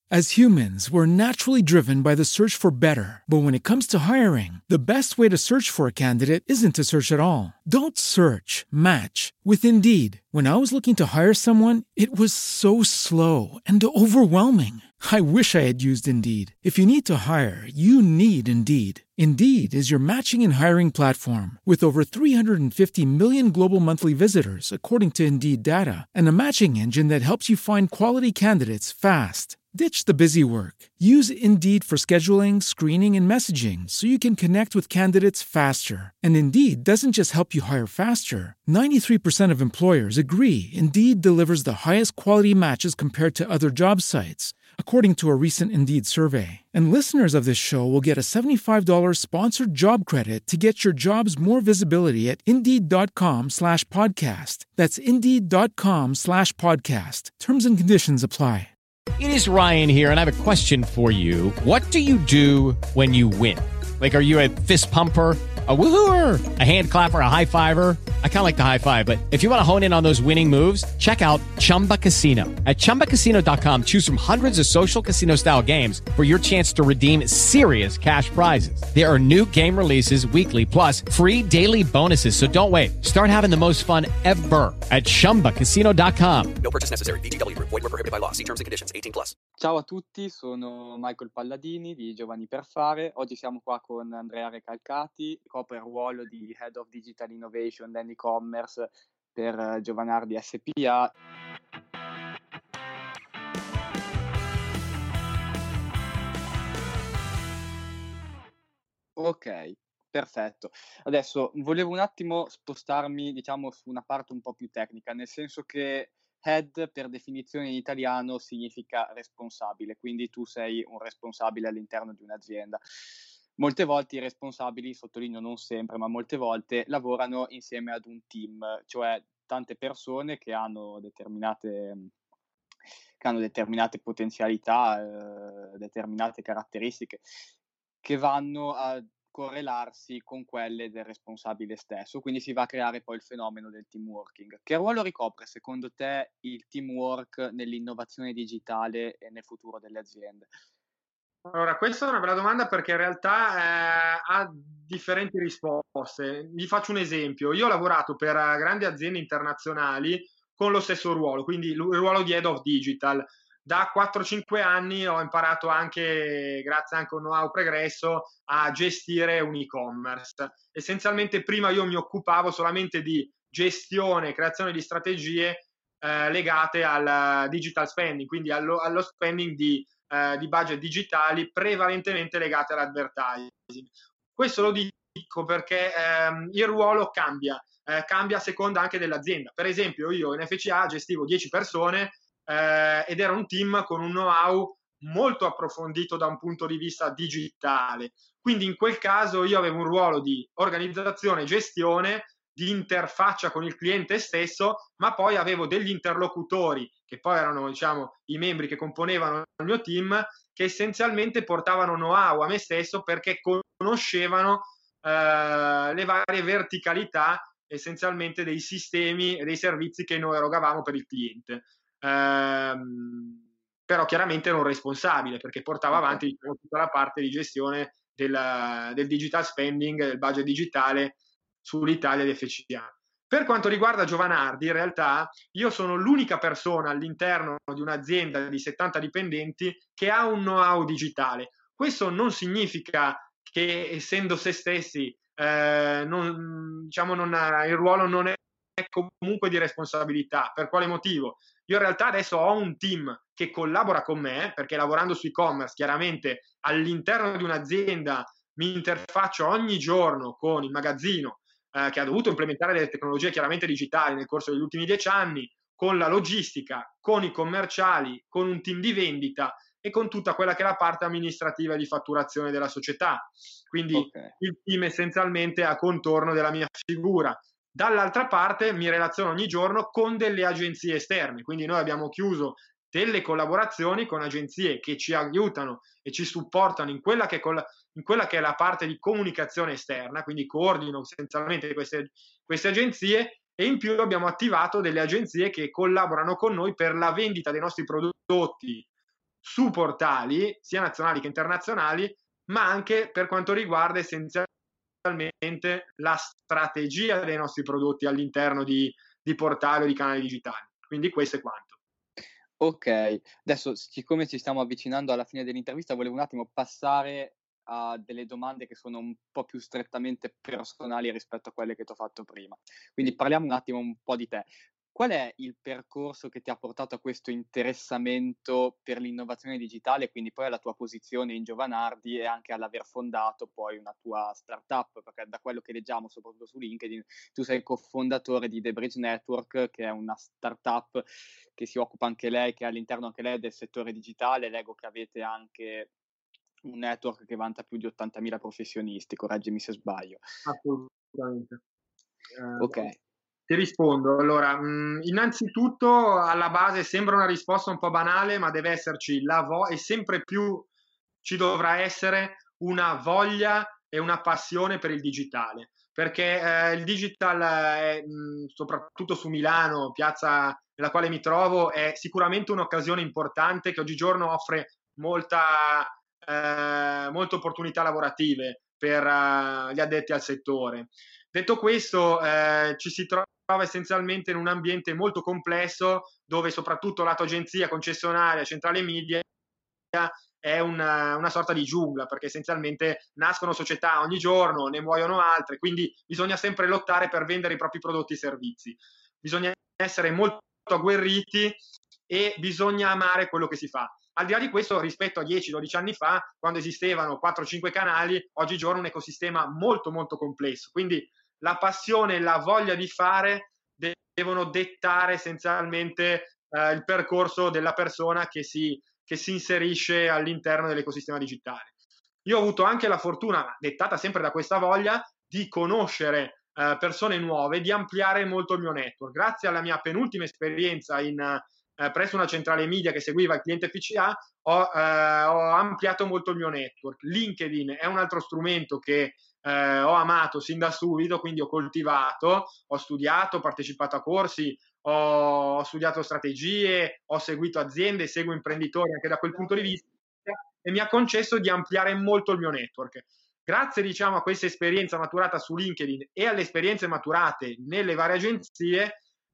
As humans, we're naturally driven by the search for better. But when it comes to hiring, the best way to search for a candidate isn't to search at all. Don't search, match with Indeed. When I was looking to hire someone, it was so slow and overwhelming. I wish I had used Indeed. If you need to hire, you need Indeed. Indeed is your matching and hiring platform with over 350 million global monthly visitors, according to Indeed data, and a matching engine that helps you find quality candidates fast. Ditch the busy work. Use Indeed for scheduling, screening, and messaging so you can connect with candidates faster. And Indeed doesn't just help you hire faster. 93% of employers agree Indeed delivers the highest quality matches compared to other job sites, according to a recent Indeed survey. And listeners of this show will get a $75 sponsored job credit to get your jobs more visibility at Indeed.com/podcast. That's Indeed.com/podcast. Terms and conditions apply. It is Ryan here, and I have a question for you. What do you do when you win? Like, are you a fist pumper, a woohooer, a hand clapper, a high fiver? I kind of like the high five, but if you want to hone in on those winning moves, check out Chumba Casino. At ChumbaCasino.com, choose from hundreds of social casino-style games for your chance to redeem serious cash prizes. There are new game releases weekly, plus free daily bonuses, so don't wait. Start having the most fun ever at ChumbaCasino.com. No purchase necessary. VGW Group. Void where prohibited by law. See terms and conditions. 18+. Ciao a tutti, sono Michael Palladini di Giovani per Fare. Oggi siamo qua con Andrea Recalcati, copre il ruolo di Head of Digital Innovation and E-Commerce per Giovanardi SPA. Ok, perfetto. Adesso volevo un attimo spostarmi, diciamo, su una parte un po' più tecnica, nel senso che head per definizione in italiano significa responsabile, quindi tu sei un responsabile all'interno di un'azienda. Molte volte i responsabili, sottolineo non sempre, ma molte volte lavorano insieme ad un team, cioè tante persone che hanno determinate potenzialità, determinate caratteristiche che vanno a correlarsi con quelle del responsabile stesso, quindi si va a creare poi il fenomeno del team working. Che ruolo ricopre secondo te il teamwork nell'innovazione digitale e nel futuro delle aziende? Allora, questa è una bella domanda perché in realtà ha differenti risposte. Vi faccio un esempio. Io ho lavorato per grandi aziende internazionali con lo stesso ruolo, quindi il ruolo di Head of Digital. Da 4-5 anni ho imparato anche, grazie anche a un know-how pregresso, a gestire un e-commerce. Essenzialmente prima io mi occupavo solamente di gestione e creazione di strategie legate al digital spending, quindi allo spending di budget digitali prevalentemente legate all'advertising. Questo lo dico perché il ruolo cambia a seconda anche dell'azienda. Per esempio io in FCA gestivo 10 persone ed era un team con un know-how molto approfondito da un punto di vista digitale. Quindi in quel caso io avevo un ruolo di organizzazione, gestione, di interfaccia con il cliente stesso, ma poi avevo degli interlocutori che poi erano, diciamo, i membri che componevano il mio team, che essenzialmente portavano know-how a me stesso perché conoscevano le varie verticalità essenzialmente dei sistemi e dei servizi che noi erogavamo per il cliente. Però chiaramente ero un responsabile perché portava avanti, diciamo, tutta la parte di gestione del digital spending, del budget digitale sull'Italia di FCA. Per quanto riguarda Giovanardi, in realtà io sono l'unica persona all'interno di un'azienda di 70 dipendenti che ha un know-how digitale. Questo non significa che, essendo se stessi, il ruolo non è comunque di responsabilità. Per quale motivo? Io in realtà adesso ho un team che collabora con me, perché lavorando su e-commerce, chiaramente all'interno di un'azienda mi interfaccio ogni giorno con il magazzino, che ha dovuto implementare delle tecnologie chiaramente digitali nel corso degli ultimi 10 anni, con la logistica, con i commerciali, con un team di vendita e con tutta quella che è la parte amministrativa e di fatturazione della società. Quindi il team essenzialmente a contorno della mia figura. Dall'altra parte mi relaziono ogni giorno con delle agenzie esterne, quindi noi abbiamo chiuso delle collaborazioni con agenzie che ci aiutano e ci supportano in quella che è la parte di comunicazione esterna, quindi coordino essenzialmente queste agenzie, e in più abbiamo attivato delle agenzie che collaborano con noi per la vendita dei nostri prodotti su portali sia nazionali che internazionali, ma anche per quanto riguarda essenzialmente la strategia dei nostri prodotti all'interno di portali o di canali digitali. Quindi questo è quanto. Ok, adesso siccome ci stiamo avvicinando alla fine dell'intervista, volevo un attimo passare a delle domande che sono un po' più strettamente personali rispetto a quelle che ti ho fatto prima. Quindi parliamo un attimo un po' di te. Qual è il percorso che ti ha portato a questo interessamento per l'innovazione digitale, quindi poi alla tua posizione in Giovanardi e anche all'aver fondato poi una tua startup? Perché da quello che leggiamo, soprattutto su LinkedIn, tu sei cofondatore di The Bridge Network, che è una startup che si occupa anche lei, che all'interno anche lei del settore digitale. Leggo che avete anche un network che vanta più di 80.000 professionisti, correggimi se sbaglio. Assolutamente. Ok. Ti rispondo. Allora, innanzitutto alla base sembra una risposta un po' banale, ma deve esserci e sempre più ci dovrà essere una voglia e una passione per il digitale, perché il digital, soprattutto su Milano, piazza nella quale mi trovo, è sicuramente un'occasione importante che oggigiorno offre molte opportunità lavorative per gli addetti al settore. Detto questo, ci si trova essenzialmente in un ambiente molto complesso, dove soprattutto lato agenzia, concessionaria, centrale media è una sorta di giungla, perché essenzialmente nascono società ogni giorno, ne muoiono altre, quindi bisogna sempre lottare per vendere i propri prodotti e servizi. Bisogna essere molto agguerriti e bisogna amare quello che si fa. Al di là di questo, rispetto a 10-12 anni fa, quando esistevano 4-5 canali, oggigiorno un ecosistema molto molto complesso, quindi la passione e la voglia di fare devono dettare essenzialmente il percorso della persona che si inserisce all'interno dell'ecosistema digitale. Io ho avuto anche la fortuna, dettata sempre da questa voglia, di conoscere persone nuove, di ampliare molto il mio network. Grazie alla mia penultima esperienza presso una centrale media che seguiva il cliente FCA, ho ampliato molto il mio network. LinkedIn è un altro strumento che ho amato sin da subito, quindi ho coltivato, ho studiato, ho partecipato a corsi, ho studiato strategie, ho seguito aziende, seguo imprenditori anche da quel punto di vista, e mi ha concesso di ampliare molto il mio network. Grazie, diciamo, a questa esperienza maturata su LinkedIn e alle esperienze maturate nelle varie agenzie,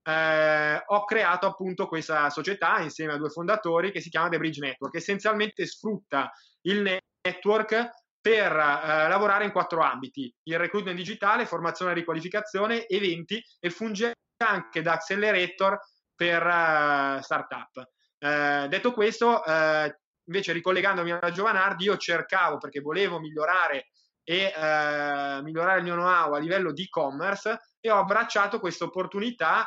ho creato appunto questa società insieme a 2 fondatori che si chiama The Bridge Network. Essenzialmente sfrutta il network per lavorare in 4 ambiti: il recruitment digitale, formazione e riqualificazione, eventi, e funge anche da accelerator per startup. Detto questo, invece ricollegandomi alla Giovanardi, io cercavo, perché volevo migliorare migliorare il mio know-how a livello di e-commerce, e ho abbracciato questa opportunità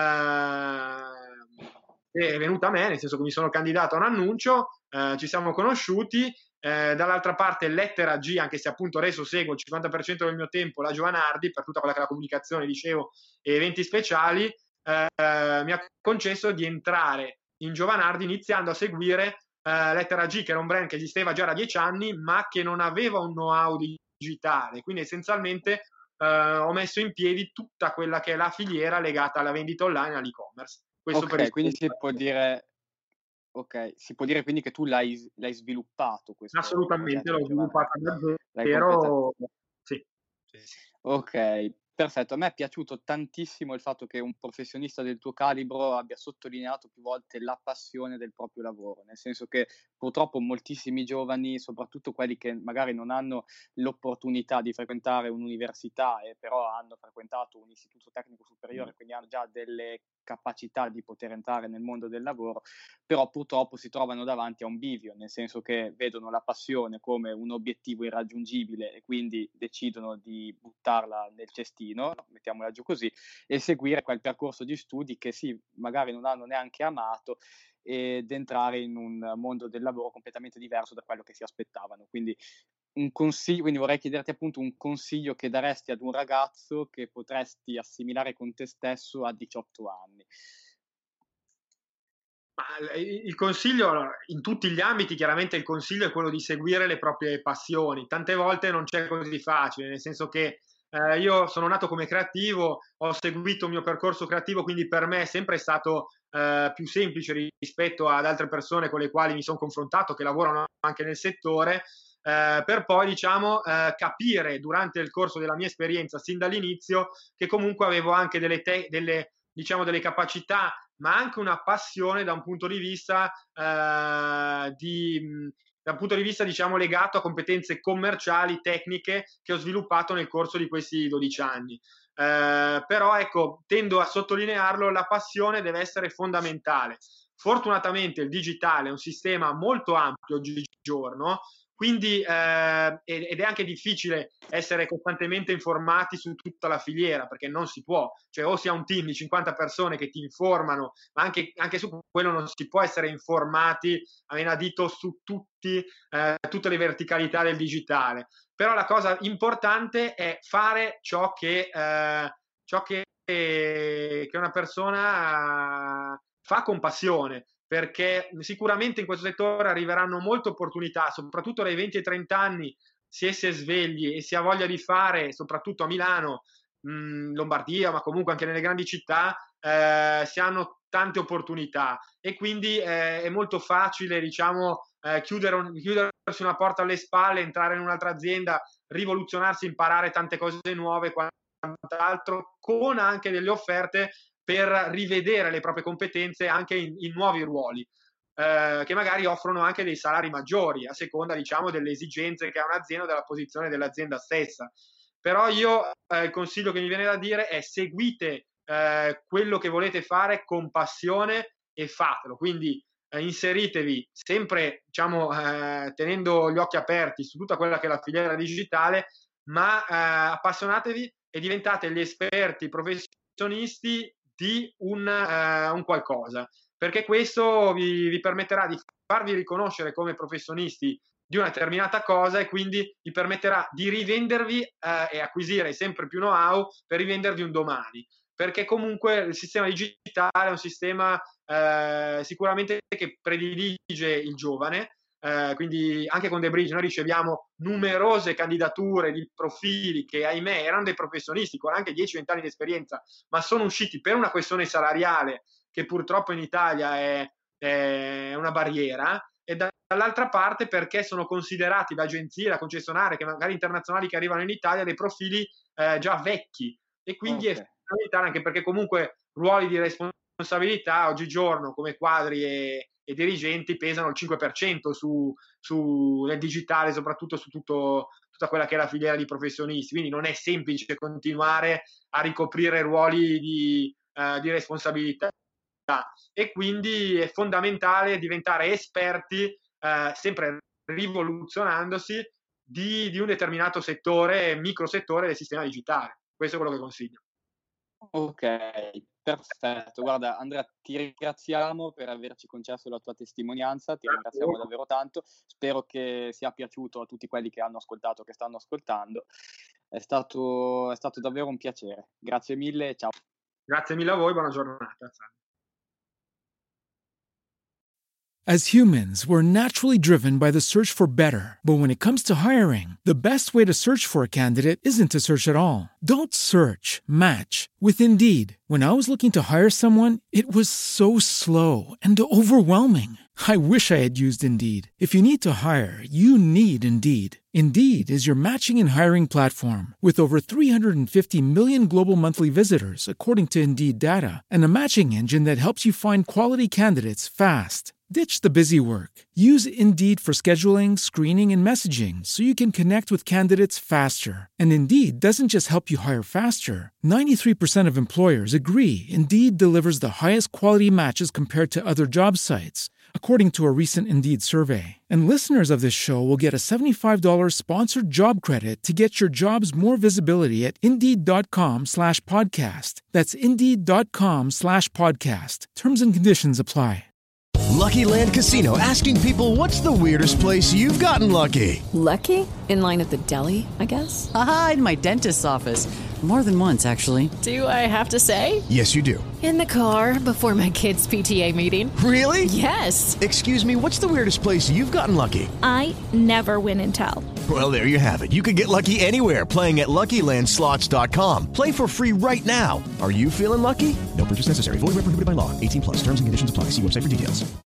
è venuta a me, nel senso che mi sono candidato a un annuncio, ci siamo conosciuti, dall'altra parte Lettera G, anche se appunto adesso seguo il 50% del mio tempo la Giovanardi per tutta quella che è la comunicazione, dicevo, e eventi speciali, mi ha concesso di entrare in Giovanardi iniziando a seguire Lettera G, che era un brand che esisteva già da 10 anni ma che non aveva un know-how digitale, quindi essenzialmente ho messo in piedi tutta quella che è la filiera legata alla vendita online e all'e-commerce. Questo Ok, quindi si può dire quindi che tu l'hai sviluppato questo assolutamente, progetto l'ho di Giovanardi. sviluppata da L'hai zero. Sì. Ok, perfetto. A me è piaciuto tantissimo il fatto che un professionista del tuo calibro abbia sottolineato più volte la passione del proprio lavoro, nel senso che purtroppo moltissimi giovani, soprattutto quelli che magari non hanno l'opportunità di frequentare un'università e però hanno frequentato un istituto tecnico superiore, quindi hanno già delle capacità di poter entrare nel mondo del lavoro, però purtroppo si trovano davanti a un bivio, nel senso che vedono la passione come un obiettivo irraggiungibile e quindi decidono di buttarla nel cestino, mettiamola giù così, e seguire quel percorso di studi che sì, magari non hanno neanche amato, ed entrare in un mondo del lavoro completamente diverso da quello che si aspettavano. Quindi quindi vorrei chiederti appunto un consiglio che daresti ad un ragazzo che potresti assimilare con te stesso a 18 anni. Il consiglio, allora, in tutti gli ambiti chiaramente il consiglio è quello di seguire le proprie passioni. Tante volte non c'è così facile, nel senso che io sono nato come creativo, ho seguito il mio percorso creativo, quindi per me è sempre stato più semplice rispetto ad altre persone con le quali mi sono confrontato, che lavorano anche nel settore, per poi diciamo capire durante il corso della mia esperienza sin dall'inizio che comunque avevo anche delle capacità, ma anche una passione da un punto di vista diciamo legato a competenze commerciali, tecniche che ho sviluppato nel corso di questi 12 anni. Però ecco, tendo a sottolinearlo, la passione deve essere fondamentale. Fortunatamente il digitale è un sistema molto ampio oggigiorno, quindi ed è anche difficile essere costantemente informati su tutta la filiera, perché non si può, cioè o si ha un team di 50 persone che ti informano, ma anche su quello non si può essere informati a menadito su tutte le verticalità del digitale. Però la cosa importante è fare ciò che una persona fa con passione, perché sicuramente in questo settore arriveranno molte opportunità, soprattutto dai 20 ai 30 anni, se si è svegli e si ha voglia di fare, soprattutto a Milano, Lombardia, ma comunque anche nelle grandi città, si hanno tante opportunità e quindi è molto facile, diciamo, chiudersi una porta alle spalle, entrare in un'altra azienda, rivoluzionarsi, imparare tante cose nuove, quant'altro, con anche delle offerte per rivedere le proprie competenze anche in nuovi ruoli, che magari offrono anche dei salari maggiori a seconda, diciamo, delle esigenze che ha un'azienda o della posizione dell'azienda stessa. Però io il consiglio che mi viene da dire è: seguite quello che volete fare con passione e fatelo. Quindi inseritevi sempre, diciamo, tenendo gli occhi aperti su tutta quella che è la filiera digitale, ma appassionatevi e diventate gli esperti professionisti di un qualcosa, perché questo vi permetterà di farvi riconoscere come professionisti di una determinata cosa e quindi vi permetterà di rivendervi e acquisire sempre più know-how per rivendervi un domani, perché comunque il sistema digitale è un sistema sicuramente che predilige il giovane. Quindi anche con The Bridge noi riceviamo numerose candidature di profili che ahimè erano dei professionisti con anche 10-20 anni di esperienza, ma sono usciti per una questione salariale che purtroppo in Italia è una barriera, e dall'altra parte perché sono considerati da agenzie, da concessionarie che magari internazionali che arrivano in Italia dei profili già vecchi, e quindi è fondamentale, anche perché comunque ruoli di responsabilità oggigiorno come quadri e dirigenti pesano il 5% nel digitale, soprattutto su tutta quella che è la filiera di professionisti, quindi non è semplice continuare a ricoprire ruoli di responsabilità, e quindi è fondamentale diventare esperti, sempre rivoluzionandosi, di un determinato settore, microsettore del sistema digitale. Questo è quello che consiglio. Ok, perfetto. Guarda, Andrea, ti ringraziamo per averci concesso la tua testimonianza, ti ringraziamo davvero tanto. Spero che sia piaciuto a tutti quelli che hanno ascoltato, che stanno ascoltando. È stato davvero un piacere. Grazie mille, ciao. Grazie mille a voi, buona giornata. As humans, we're naturally driven by the search for better. But when it comes to hiring, the best way to search for a candidate isn't to search at all. Don't search, match with Indeed. When I was looking to hire someone, it was so slow and overwhelming. I wish I had used Indeed. If you need to hire, you need Indeed. Indeed is your matching and hiring platform with over 350 million global monthly visitors, according to Indeed data, and a matching engine that helps you find quality candidates fast. Ditch the busy work. Use Indeed for scheduling, screening, and messaging so you can connect with candidates faster. And Indeed doesn't just help you hire faster. 93% of employers agree Indeed delivers the highest quality matches compared to other job sites, according to a recent Indeed survey. And listeners of this show will get a $75 sponsored job credit to get your jobs more visibility at Indeed.com/podcast. That's Indeed.com/podcast. Terms and conditions apply. Lucky Land Casino, asking people, what's the weirdest place you've gotten lucky? Lucky? In line at the deli, I guess? Aha, in my dentist's office. More than once, actually. Do I have to say? Yes, you do. In the car before my kids' PTA meeting. Really? Yes. Excuse me, what's the weirdest place you've gotten lucky? I never win and tell. Well, there you have it. You can get lucky anywhere, playing at LuckyLandSlots.com. Play for free right now. Are you feeling lucky? No purchase necessary. Void where prohibited by law. 18+. Terms and conditions apply. See website for details.